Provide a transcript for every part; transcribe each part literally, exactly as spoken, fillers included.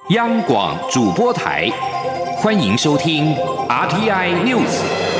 央广主播台，欢迎收听 R T I News。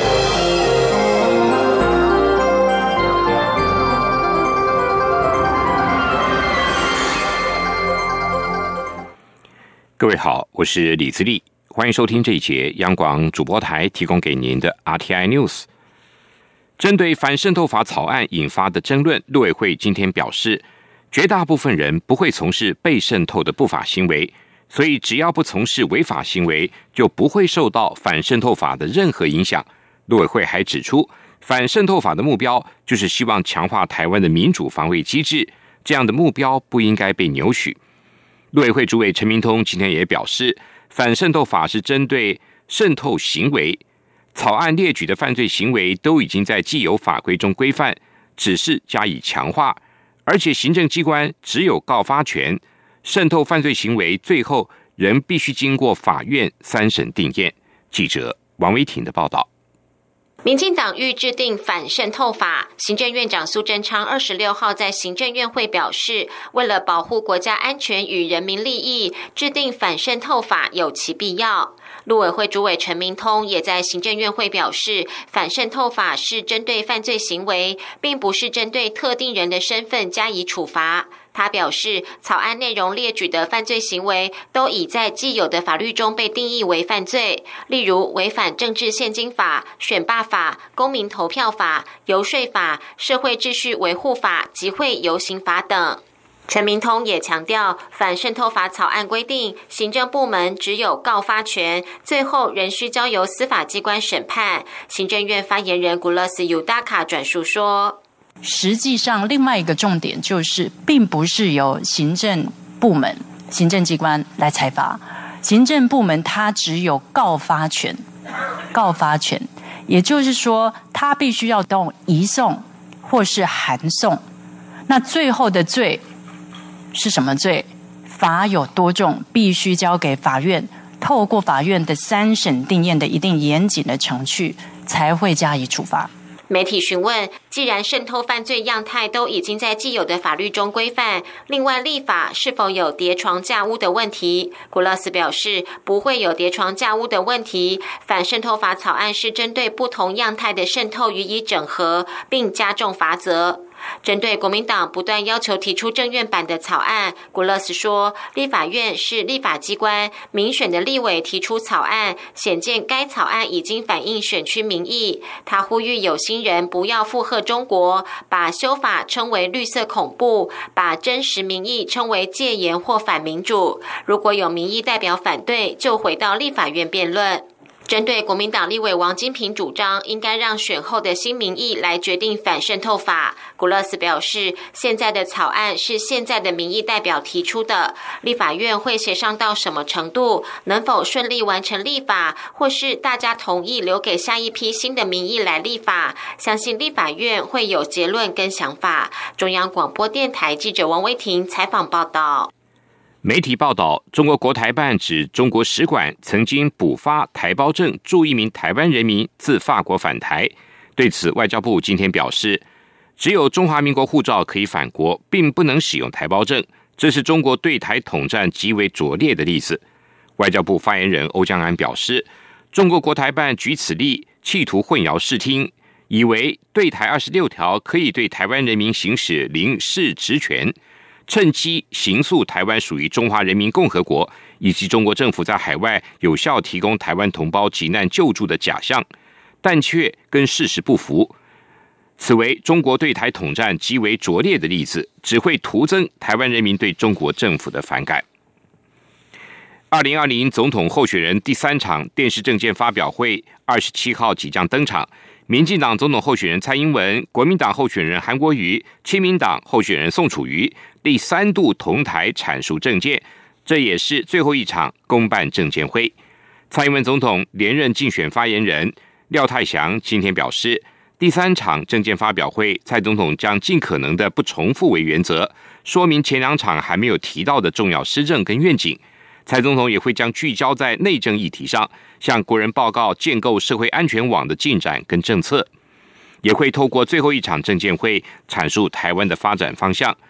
各位好，我是李自立，欢迎收听这一节央广主播台提供给您的 R T I News。针对反渗透法草案引发的争论，陆委会今天表示，绝大部分人不会从事被渗透的不法行为，所以只要不从事违法行为，就不会受到反渗透法的任何影响。陆委会还指出，反渗透法的目标就是希望强化台湾的民主防卫机制，这样的目标不应该被扭曲。陆委会主委陈明通今天也表示，反渗透法是针对渗透行为，草案列举的犯罪行为都已经在既有法规中规范，只是加以强化，而且行政机关只有告发权，渗透犯罪行为最后仍必须经过法院三审定验。记者王维婷的报道。 民进党欲制定反渗透法，行政院长苏贞昌二十六号在行政院会表示，为了保护国家安全与人民利益，制定反渗透法有其必要。陆委会主委陈明通也在行政院会表示，反渗透法是针对犯罪行为，并不是针对特定人的身份加以处罚。他表示，草案内容列举的犯罪行为都已在既有的法律中被定义为犯罪，例如违反政治献金法、选罢法、公民投票法、游说法、社会秩序维护法、集会游行法等。陈明通也强调，反渗透法草案规定，行政部门只有告发权，最后仍需交由司法机关审判。行政院发言人古勒斯尤达卡转述说， 实际上另外一个重点就是，并不是由行政部门、行政机关来裁罚，行政部门它只有告发权，告发权，也就是说，它必须要动移送或是函送。那最后的罪是什么罪？罚有多重，必须交给法院，透过法院的三审定验的一定严谨的程序，才会加以处罚。 媒体询问，既然渗透犯罪样态都已经在既有的法律中规范，另外立法是否有叠床架屋的问题？古勒斯表示，不会有叠床架屋的问题。反渗透法草案是针对不同样态的渗透予以整合，并加重罚则。针对国民党不断要求提出政院版的草案，古勒斯说，立法院是立法机关，民选的立委提出草案，显见该草案已经反映选区民意。他呼吁有心人不要附和中国，把修法称为绿色恐怖，把真实民意称为戒严或反民主。如果有民意代表反对，就回到立法院辩论。针对国民党立委王金平主张应该让选后的新民意来决定反渗透法，古勒斯表示，现在的草案是现在的民意代表提出的，立法院会协商到什么程度，能否顺利完成立法，或是大家同意留给下一批新的民意来立法，相信立法院会有结论跟想法。中央广播电台记者王威婷采访报道。 媒体报道，中国国台办指中国使馆曾经补发台胞证助一名台湾人民自法国返台。对此，外交部今天表示，只有中华民国护照可以返国，并不能使用台胞证，这是中国对台统战极为拙劣的例子。外交部发言人欧江安表示，中国国台办举此例，企图混淆视听，以为对台二十六条可以对台湾人民行使临时职权，趁机形塑台湾属于中华人民共和国，以及中国政府在海外有效提供台湾同胞急难救助的假象，但却跟事实不符。此为中国对台统战极为拙劣的例子，只会徒增台湾人民对中国政府的反感。二零二零总统候选人第三场电视政见发表会二十七号即将登场。民进党总统候选人蔡英文、国民党候选人韩国瑜、亲民党候选人宋楚瑜第三度同台阐述政见，这也是最后一场公办政见会。蔡英文总统连任竞选发言人廖泰祥今天表示，第三场政见发表会，蔡总统将尽可能的不重复为原则，说明前两场还没有提到的重要施政跟愿景。蔡总统也会将聚焦在内政议题上，向国人报告建构社会安全网的进展跟政策，也会透过最后一场政见会阐述台湾的发展方向。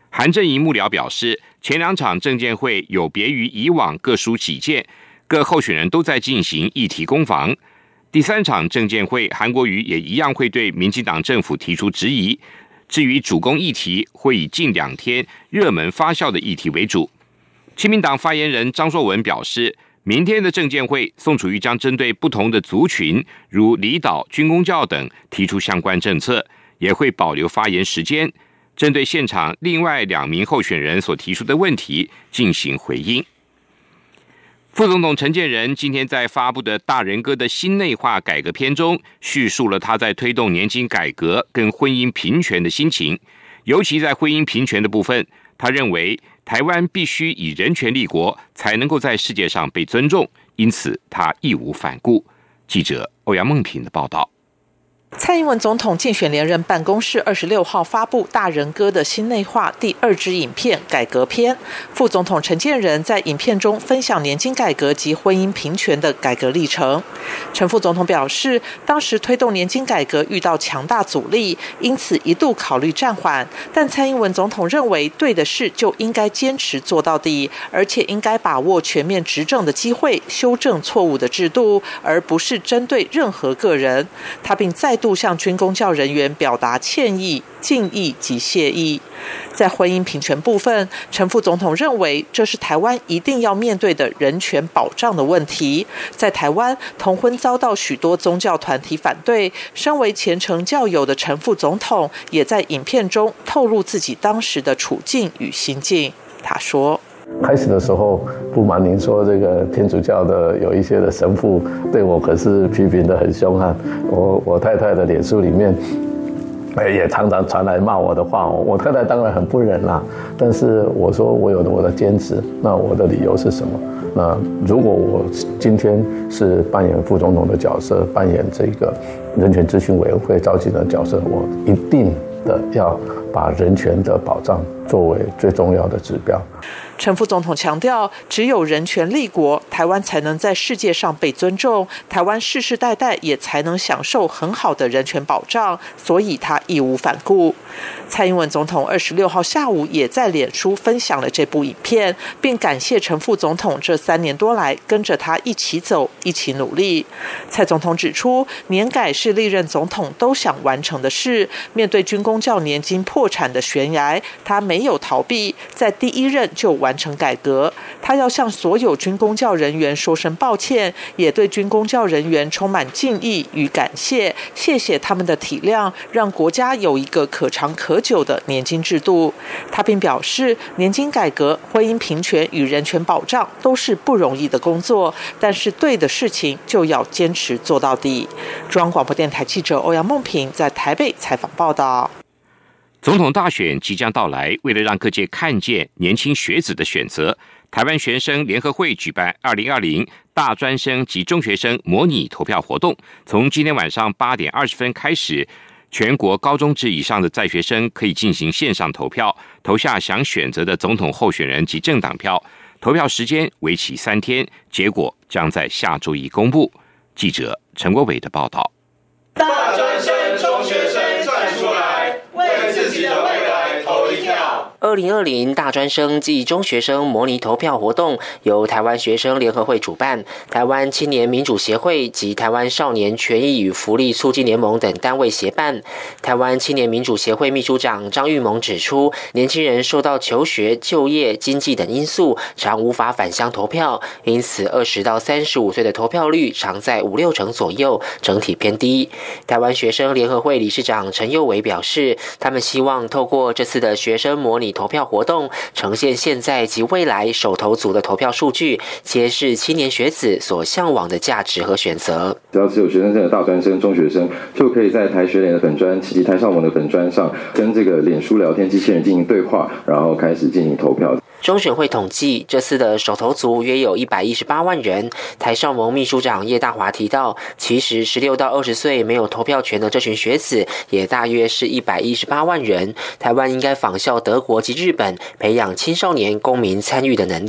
韩正仪幕僚表示，前两场政见会有别于以往各抒己见，各候选人都在进行议题攻防。第三场政见会，韩国瑜也一样会对民进党政府提出质疑。至于主攻议题，会以近两天热门发酵的议题为主。亲民党发言人张硕文表示，明天的政见会，宋楚瑜将针对不同的族群，如离岛、军公教等提出相关政策，也会保留发言时间，针对现场另外两名候选人所提出的问题进行回应。副总统陈建仁今天在发布的大人哥的新内化改革篇中，叙述了他在推动年金改革跟婚姻平权的心情。尤其在婚姻平权的部分，他认为台湾必须以人权立国，才能够在世界上被尊重，因此他义无反顾。记者欧阳梦平的报道。 蔡英文总统竞选连任办公室二十六号发布大人哥的新内化第二支影片改革篇，副总统陈建仁在影片中分享年金改革及婚姻平权的改革历程。陈副总统表示，当时推动年金改革遇到强大阻力，因此一度考虑暂缓，但蔡英文总统认为对的事就应该坚持做到底，而且应该把握全面执政的机会，修正错误的制度，而不是针对任何个人。他并再度向军公教人员表达歉意、敬意及谢意。在婚姻平权部分，陈副总统认为这是台湾一定要面对的人权保障的问题。在台湾，同婚遭到许多宗教团体反对，身为虔诚教友的陈副总统也在影片中透露自己当时的处境与心境。他说， 开始的时候，不瞒您说，这个天主教的有一些的神父对我可是批评得很凶悍。我我太太的脸书里面，也常常传来骂我的话。我太太当然很不忍啦，但是我说我有我的坚持。那我的理由是什么？那如果我今天是扮演副总统的角色，扮演这个人权咨询委员会召集人的角色，我一定的要把人权的保障作为最重要的指标。 陈副总统强调，只有人权立国，台湾才能在世界上被尊重，台湾世世代代也才能享受很好的人权保障，所以他义无反顾。蔡英文总统二十六号下午也在脸书分享了这部影片，并感谢陈副总统这三年多来跟着他一起走，一起努力。蔡总统指出，年改是历任总统都想完成的事，面对军公教年金破产的悬崖，他没有逃避，在第一任就完成改革。他要向所有军公教人员说声抱歉，也对军公教人员充满敬意与感谢，谢谢他们的体谅，让国家有一个可长可久的年金制度。他并表示，年金改革、婚姻平权与人权保障都是不容易的工作，但是对的事情就要坚持做到底。中央广播电台记者欧阳梦平在台北采访报道。 总统大选即将到来，为了让各界看见年轻学子的选择，台湾学生联合会举办二零二零大专生及中学生模拟投票活动，从今天晚上八点二十分开始，全国高中至以上的在学生可以进行线上投票，投下想选择的总统候选人及政党票。投票时间为期三天，结果将在下周一公布。记者陈国伟的报道。 大专生、中学生站出来，为自己的未来投一票。 二零二零大专生暨中学生模拟投票活动由台湾学生联合会主办，台湾青年民主协会及台湾少年权益与福利促进联盟等单位协办。台湾青年民主协会秘书长张玉萌指出，年轻人受到求学、就业、经济等因素，常无法返乡投票，因此二十到三十五岁的投票率常在五六成左右，整体偏低。台湾学生联合会理事长陈佑伟表示，他们希望透过这次的学生模拟投票活动，呈现现在及未来首投族的投票数据，揭示青年学子所向往的价值和选择。 只要是有学生证的大专生、中学生，就可以在台学联的粉专及台少盟的粉专上，跟这个脸书聊天机器人进行对话，然后开始进行投票。 中选会统计，这次的首投族约有一百一十八万人。台少盟秘书长叶大华提到，其实十六到二十岁没有投票权的这群学子，也大约是一百一十八万人。台湾应该仿效德国及日本，培养青少年公民参与的能力。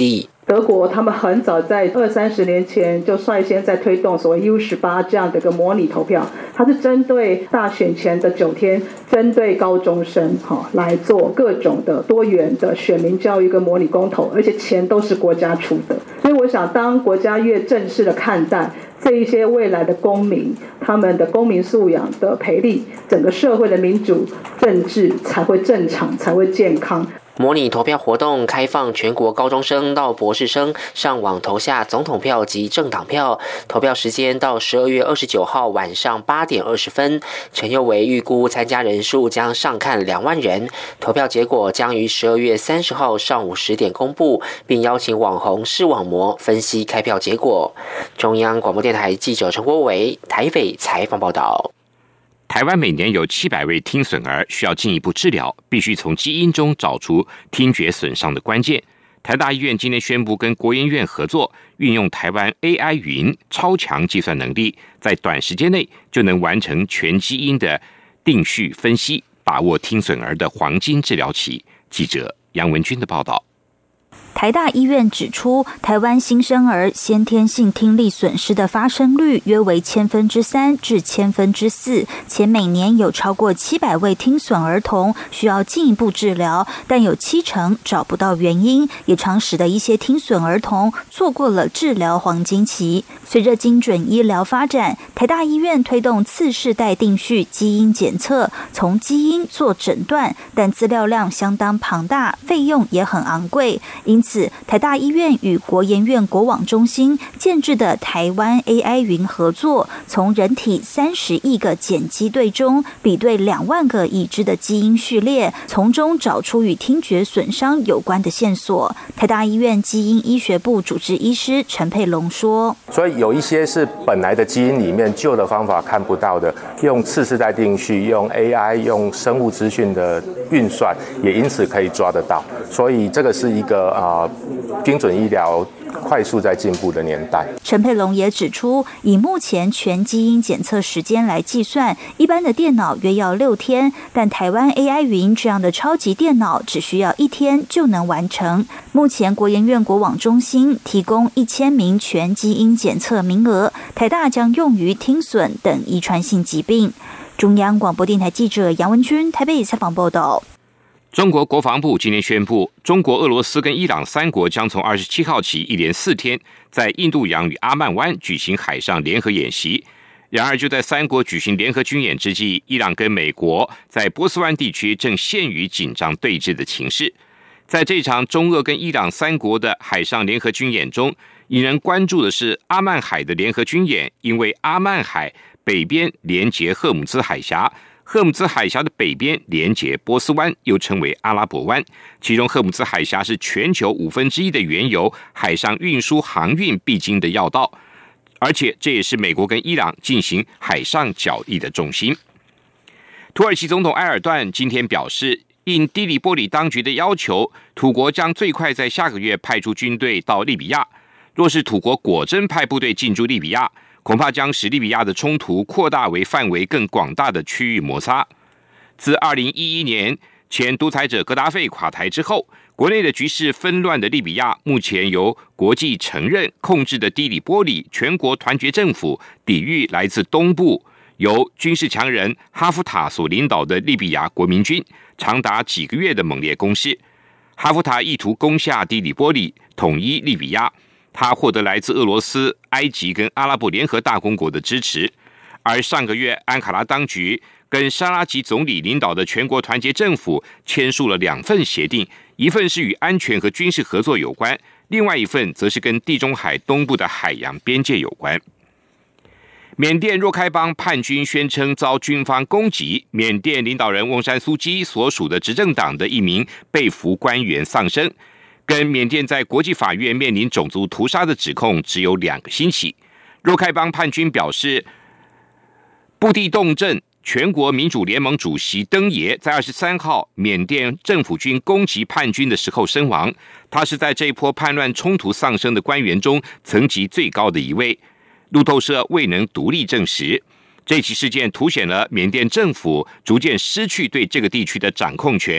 德国他们很早在二三十年前就率先在推动所谓 U 十八 这样的一个模拟投票，它是针对大选前的九天，针对高中生哈来做各种的多元的选民教育跟模拟公投，而且钱都是国家出的。所以我想，当国家越正式的看待这一些未来的公民，他们的公民素养的培力，整个社会的民主政治才会正常，才会健康。 模拟投票活动开放全国高中生到博士生上网投下总统票及政党票，投票时间到十二月二十九号晚上八点二十分。陈佑维预估参加人数将上看两万人，投票结果将于十二月三十号上午十点公布，并邀请网红视网膜分析开票结果。中央广播电台记者陈国维台北采访报道。 台湾每年有七百位听损儿需要进一步治疗，必须从基因中找出听觉损伤的关键。台大医院今天宣布跟国研院合作，运用台湾 A I 云超强计算能力，在短时间内就能完成全基因的定序分析，把握听损儿的黄金治疗期。记者杨文君的报道。 台大医院指出，台湾新生儿先天性听力损失的发生率约为千分之三至千分之四，且每年有超过七百位听损儿童需要进一步治疗，但有七成找不到原因，也常使得一些听损儿童错过了治疗黄金期。随着精准医疗发展，台大医院推动次世代定序基因检测，从基因做诊断，但资料量相当庞大，费用也很昂贵，因此台大医院与国研院国网中心建制的台湾 A I 云合作，从人体三十亿个碱基对中比对两万个已知的基因序列，从中找出与听觉损伤有关的线索。台大医院基因医学部主治医师陈佩龙说， 所以有一些是本来的基因里面旧的方法看不到的，用次世代定序，用 A I， 用生物资讯的运算，也因此可以抓得到。所以这个是一个啊、呃、精准医疗快速在进步的年代。 陈佩龙也指出，以目前全基因检测时间来计算，一般的电脑约要六天，但台湾 A I 云这样的超级电脑只需要一天就能完成。目前国研院国网中心提供一千名全基因检测名额，台大将用于听损等遗传性疾病。中央广播电台记者杨文君台北采访报道。 中国国防部今天宣布，中国、俄罗斯跟伊朗三国将从二十七号起一连四天在印度洋与阿曼湾举行海上联合演习。然而，就在三国举行联合军演之际，伊朗跟美国在波斯湾地区正陷于紧张对峙的情势。在这场中俄跟伊朗三国的海上联合军演中，引人关注的是阿曼海的联合军演，因为阿曼海北边连接赫姆兹海峡，赫姆兹海峡的北边连接波斯湾，又称为阿拉伯湾。其中赫姆兹海峡是全球五分之一的原油海上运输航运必经的要道，而且这也是美国跟伊朗进行海上角力的重心。土耳其总统埃尔段今天表示，应低里波里当局的要求，土国将最快在下个月派出军队到利比亚。若是土国果真派部队进驻利比亚，恐怕将使利比亚的冲突扩大为范围更广大的区域摩擦。自二零一一年前独裁者格达费垮台之后，国内的局势纷乱的利比亚，目前由国际承认控制的低里波里全国团结政府抵御来自东部由军事强人哈夫塔所领导的利比亚国民军长达几个月的猛烈攻势。哈夫塔意图攻下低里波里，统一利比亚。他获得来自俄罗斯、埃及跟阿拉伯联合大公国的支持。而上个月，安卡拉当局跟沙拉吉总理领导的全国团结政府签署了两份协定，一份是与安全和军事合作有关，另外一份则是跟地中海东部的海洋边界有关。缅甸若开邦叛军宣称遭军方攻击，缅甸领导人翁山苏基所属的执政党的一名被俘官员丧生，跟缅甸在国际法院面临种族屠杀的指控只有两个星期。若开邦叛军表示，布地洞镇全国民主联盟主席登爷在二十三号缅甸政府军攻击叛军的时候身亡，他是在这一波叛乱冲突丧生的官员中层级最高的一位。路透社未能独立证实。这起事件凸显了缅甸政府逐渐失去对这个地区的掌控权，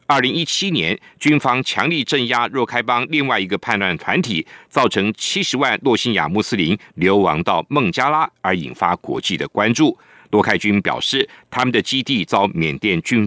二零一七年，军方强力镇压若开邦另外一个叛乱团体，造成七十万洛辛亚穆斯林流亡到孟加拉，而引发国际的关注。洛开军表示，他们的基地遭缅甸军